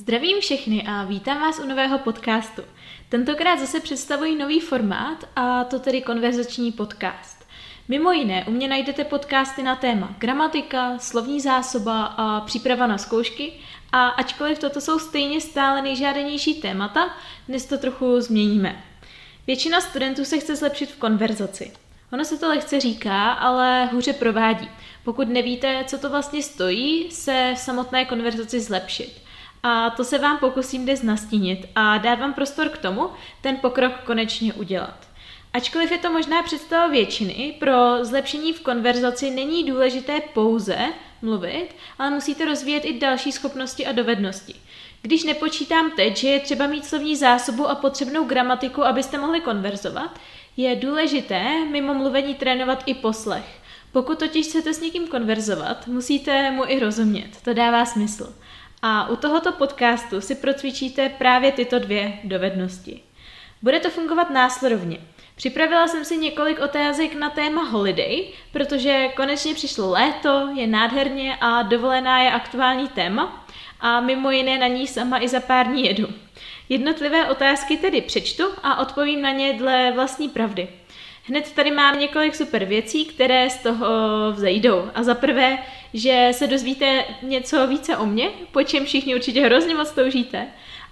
Zdravím všechny a vítám vás u nového podcastu. Tentokrát zase představuji nový formát, a to tedy konverzační podcast. Mimo jiné, u mě najdete podcasty na téma gramatika, slovní zásoba a příprava na zkoušky, a ačkoliv toto jsou stejně stále nejžádanější témata, dnes to trochu změníme. Většina studentů se chce zlepšit v konverzaci. Ono se to lehce říká, ale hůře provádí. Pokud nevíte, co to vlastně stojí, se v samotné konverzaci zlepšit. A to se vám pokusím dnes nastínit a dát vám prostor k tomu, ten pokrok konečně udělat. Ačkoliv je to možná představa většiny, pro zlepšení v konverzaci není důležité pouze mluvit, ale musíte rozvíjet i další schopnosti a dovednosti. Když nepočítám teď, že je třeba mít slovní zásobu a potřebnou gramatiku, abyste mohli konverzovat, je důležité mimo mluvení trénovat i poslech. Pokud totiž chcete s někým konverzovat, musíte mu i rozumět, to dává smysl. A u tohoto podcastu si procvičíte právě tyto dvě dovednosti. Bude to fungovat následovně. Připravila jsem si několik otázek na téma holiday, protože konečně přišlo léto, je nádherně a dovolená je aktuální téma a mimo jiné na ní sama i za pár dní jedu. Jednotlivé otázky tedy přečtu a odpovím na ně dle vlastní pravdy. Hned tady mám několik super věcí, které z toho vzejdou. A za prvé, že se dozvíte něco více o mně, po čem všichni určitě hrozně moc toužíte.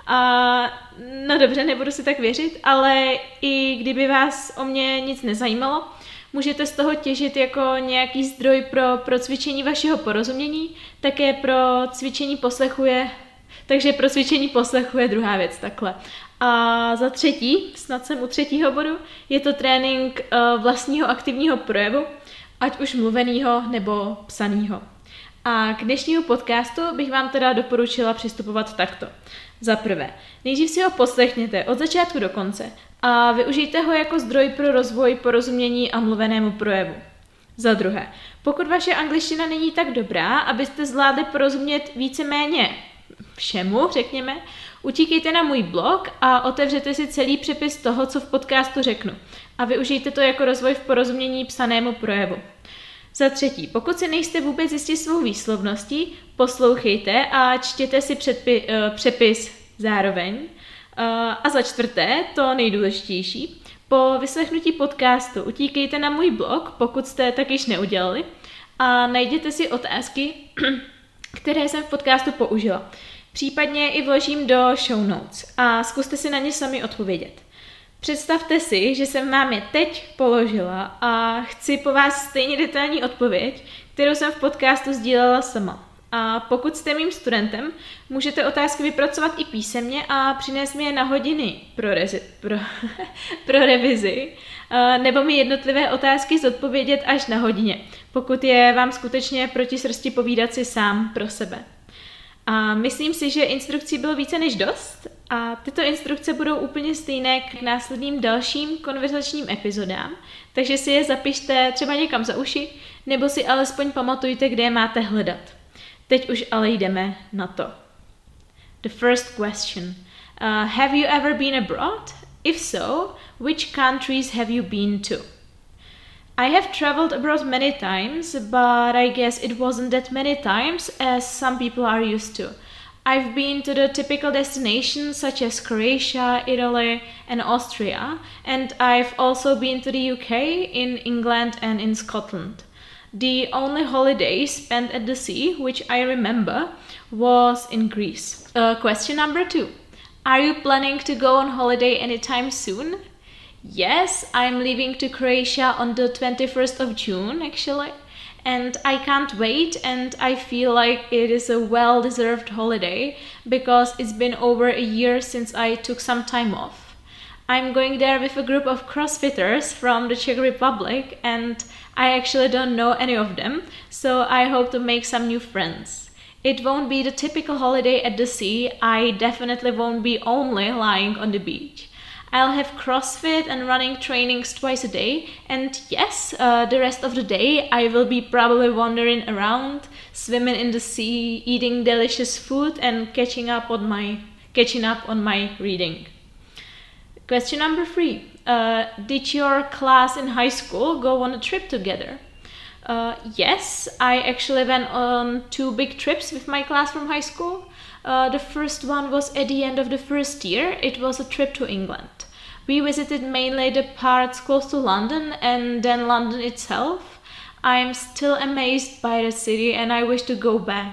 A no dobře, nebudu si tak věřit, ale i kdyby vás o mě nic nezajímalo, můžete z toho těžit jako nějaký zdroj pro cvičení vašeho porozumění, také pro cvičení poslechu je, takže pro cvičení poslechu je druhá věc takhle. A za třetí, snad jsem u třetího bodu, je to trénink vlastního aktivního projevu, ať už mluvenýho nebo psanýho. A k dnešnímu podcastu bych vám teda doporučila přistupovat takto. Za prvé, nejdřív si ho poslechněte od začátku do konce a využijte ho jako zdroj pro rozvoj porozumění a mluvenému projevu. Za druhé, pokud vaše angličtina není tak dobrá, abyste zvládli porozumět víceméně všemu, řekněme, utíkejte na můj blog a otevřete si celý přepis toho, co v podcastu řeknu. A využijte to jako rozvoj v porozumění psanému projevu. Za třetí, pokud si nejste vůbec jistí svou výslovností, poslouchejte a čtěte si přepis zároveň. A za čtvrté, to nejdůležitější, po vyslechnutí podcastu utíkejte na můj blog, pokud jste tak již neudělali, a najděte si otázky, které jsem v podcastu použila. Případně i vložím do show notes a zkuste si na ně sami odpovědět. Představte si, že jsem vám je teď položila a chci po vás stejně detailní odpověď, kterou jsem v podcastu sdílela sama. A pokud jste mým studentem, můžete otázky vypracovat i písemně a přinést mi je na hodiny pro revizi, nebo mi jednotlivé otázky zodpovědět až na hodině, pokud je vám skutečně proti srsti povídat si sám pro sebe. A myslím si, že instrukcí bylo více než dost a tyto instrukce budou úplně stejné k následným dalším konverzačním epizodám, takže si je zapište třeba někam za uši, nebo si alespoň pamatujte, kde je máte hledat. Teď už ale jdeme na to. The first question. Have you ever been abroad? If so, which countries have you been to? I have traveled abroad many times, but I guess it wasn't that many times as some people are used to. I've been to the typical destinations such as Croatia, Italy and Austria, and I've also been to the UK, in England and in Scotland. The only holiday spent at the sea, which I remember, was in Greece. Question number 2. Are you planning to go on holiday anytime soon? Yes, I'm leaving to Croatia on the 21st of June, actually, and I can't wait, and I feel like it is a well-deserved holiday because it's been over a year since I took some time off. I'm going there with a group of CrossFitters from the Czech Republic, and I actually don't know any of them, so I hope to make some new friends. It won't be the typical holiday at the sea. I definitely won't be only lying on the beach. I'll have CrossFit and running trainings twice a day, and yes, the rest of the day I will be probably wandering around, swimming in the sea, eating delicious food and catching up on my reading. Question number 3. Did your class in high school go on a trip together? Yes, I actually went on 2 big trips with my class from high school. The first one was at the end of the first year. It was a trip to England. We visited mainly the parts close to London and then London itself. I am still amazed by the city and I wish to go back.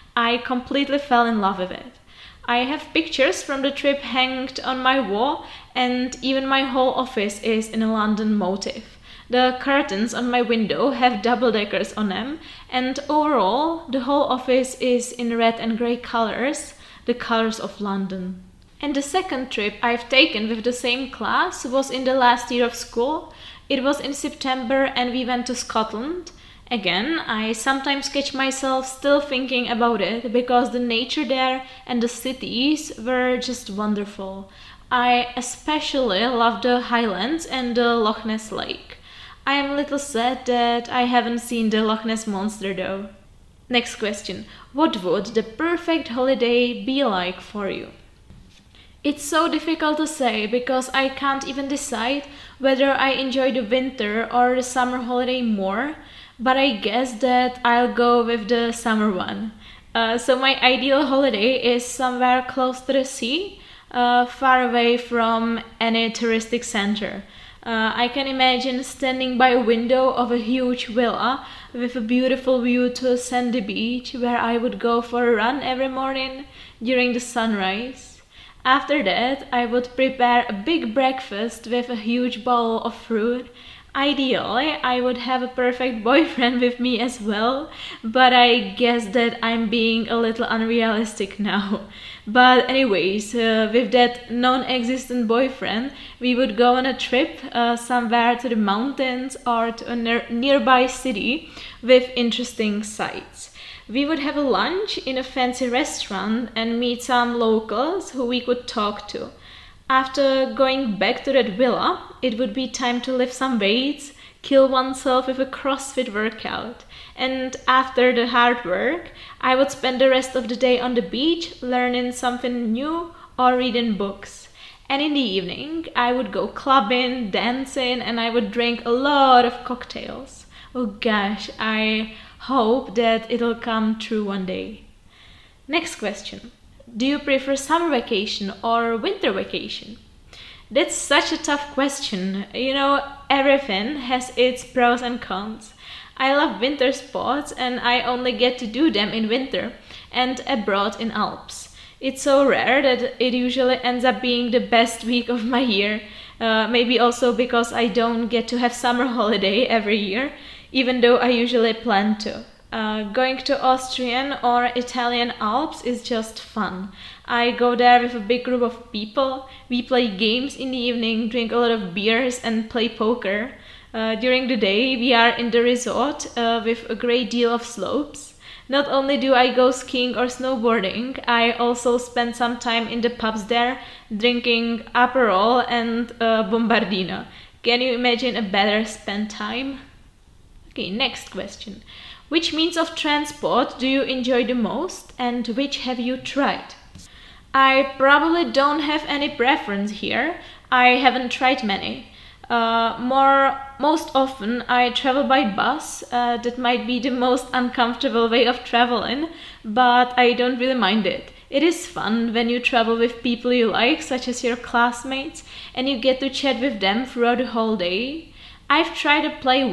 I completely fell in love with it. I have pictures from the trip hanged on my wall, and even my whole office is in a London motif. The curtains on my window have double-deckers on them, and overall the whole office is in red and grey colors, the colors of London. And the second trip I've taken with the same class was in the last year of school. It was in September and we went to Scotland. Again, I sometimes catch myself still thinking about it because the nature there and the cities were just wonderful. I especially love the Highlands and the Loch Ness Lake. I am a little sad that I haven't seen the Loch Ness Monster though. Next question. What would the perfect holiday be like for you? It's so difficult to say because I can't even decide whether I enjoy the winter or the summer holiday more, but I guess that I'll go with the summer one. So my ideal holiday is somewhere close to the sea, far away from any touristic center. I can imagine standing by a window of a huge villa with a beautiful view to a sandy beach where I would go for a run every morning during the sunrise. After that, I would prepare a big breakfast with a huge bowl of fruit. Ideally, I would have a perfect boyfriend with me as well, but I guess that I'm being a little unrealistic now. But anyways, with that non-existent boyfriend, we would go on a trip somewhere to the mountains or to a nearby city with interesting sights. We would have a lunch in a fancy restaurant and meet some locals who we could talk to. After going back to that villa, it would be time to lift some weights, kill oneself with a CrossFit workout. And after the hard work, I would spend the rest of the day on the beach, learning something new or reading books. And in the evening, I would go clubbing, dancing, and I would drink a lot of cocktails. Oh gosh, I hope that it'll come true one day. Next question. Do you prefer summer vacation or winter vacation? That's such a tough question. You know, everything has its pros and cons. I love winter sports and I only get to do them in winter and abroad in Alps. It's so rare that it usually ends up being the best week of my year. Maybe also because I don't get to have summer holiday every year, even though I usually plan to. Going to Austrian or Italian Alps is just fun. I go there with a big group of people. We play games in the evening, drink a lot of beers and play poker. During the day we are in the resort with a great deal of slopes. Not only do I go skiing or snowboarding, I also spend some time in the pubs there drinking Aperol and Bombardino. Can you imagine a better spent time? Okay, next question. Which means of transport do you enjoy the most and which have you tried? I probably don't have any preference here. I haven't tried many. Most often I travel by bus. That might be the most uncomfortable way of traveling, but I don't really mind it. It is fun when you travel with people you like, such as your classmates, and you get to chat with them throughout the whole day. I've tried a plane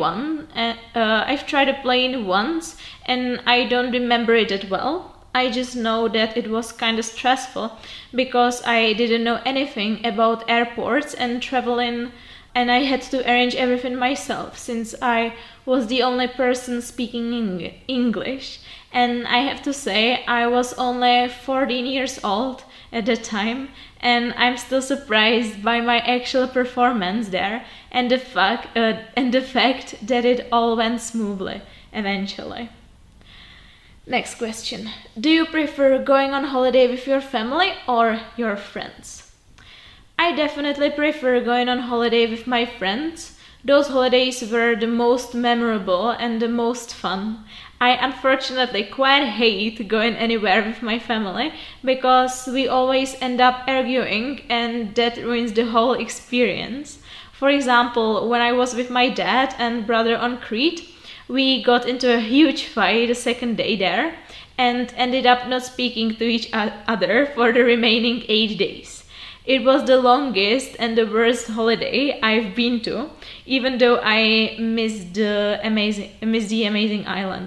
once and I don't remember it that well. I just know that it was kind of stressful because I didn't know anything about airports and traveling, and I had to arrange everything myself since I was the only person speaking English. And I have to say, I was only 14 years old at the time, and I'm still surprised by my actual performance there and the fact that it all went smoothly eventually. Next question. Do you prefer going on holiday with your family or your friends? I definitely prefer going on holiday with my friends. Those holidays were the most memorable and the most fun. I unfortunately quite hate going anywhere with my family because we always end up arguing and that ruins the whole experience. For example, when I was with my dad and brother on Crete, we got into a huge fight the second day there, and ended up not speaking to each other for the remaining 8 days. It was the longest and the worst holiday I've been to, even though I missed the amazing island.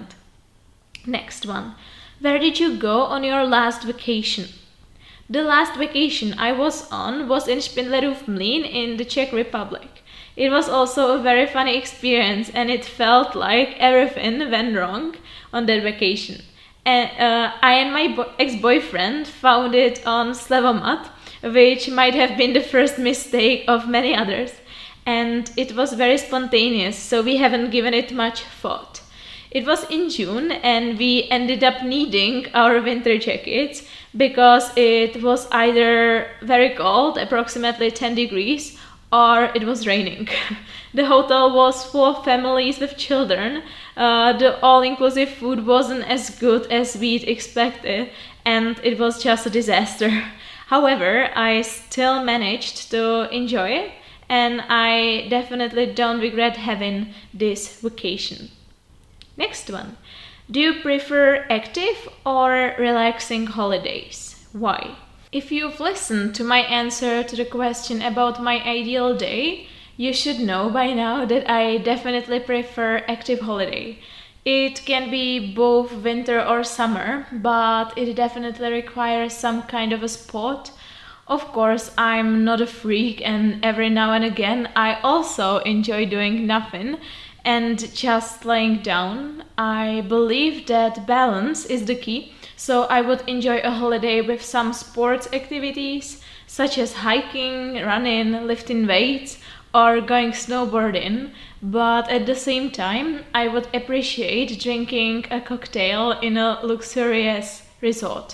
Next one. Where did you go on your last vacation? The last vacation I was on was in Špindlerův Mlýn in the Czech Republic. It was also a very funny experience, and it felt like everything went wrong on that vacation. And I and my ex-boyfriend found it on Slevomat, which might have been the first mistake of many others. And it was very spontaneous, so we haven't given it much thought. It was in June, and we ended up needing our winter jackets because it was either very cold, approximately 10 degrees, or it was raining. The hotel was full of families with children. The all-inclusive food wasn't as good as we'd expected, and it was just a disaster. However, I still managed to enjoy it, and I definitely don't regret having this vacation. Next one. Do you prefer active or relaxing holidays? Why? If you've listened to my answer to the question about my ideal day, you should know by now that I definitely prefer active holiday. It can be both winter or summer, but it definitely requires some kind of a sport. Of course, I'm not a freak, and every now and again I also enjoy doing nothing and just laying down. I believe that balance is the key, so I would enjoy a holiday with some sports activities such as hiking, running, lifting weights, or going snowboarding, but at the same time I would appreciate drinking a cocktail in a luxurious resort.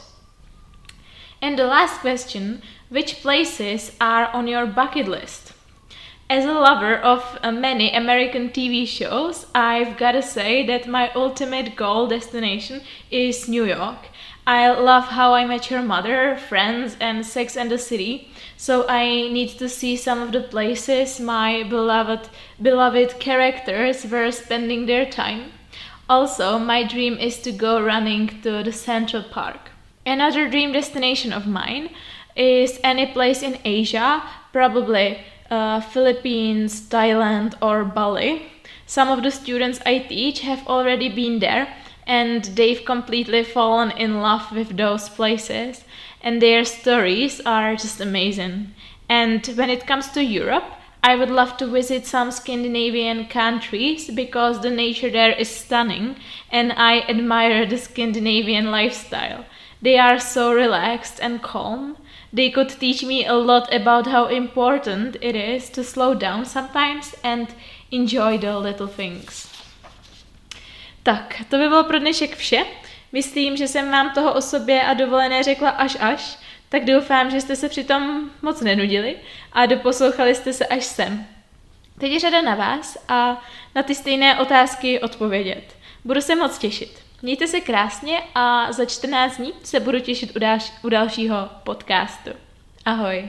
And the last question, which places are on your bucket list? As a lover of many American TV shows, I've gotta say that my ultimate goal destination is New York. I love How I Met Your Mother, Friends, and Sex and the City, so I need to see some of the places my beloved characters were spending their time. Also, my dream is to go running to the Central Park. Another dream destination of mine is any place in Asia, probably Philippines, Thailand, or Bali. Some of the students I teach have already been there, and they've completely fallen in love with those places, and their stories are just amazing. And when it comes to Europe, I would love to visit some Scandinavian countries because the nature there is stunning, and I admire the Scandinavian lifestyle. They are so relaxed and calm. They could teach me a lot about how important it is to slow down sometimes and enjoy the little things. Tak, to by bylo pro dnešek vše. Myslím, že jsem vám toho o sobě a dovolené řekla až, tak doufám, že jste se přitom moc nenudili a doposlouchali jste se až sem. Teď je řada na vás a na ty stejné otázky odpovědět. Budu se moc těšit. Mějte se krásně a za 14 dní se budu těšit u dalšího podcastu. Ahoj.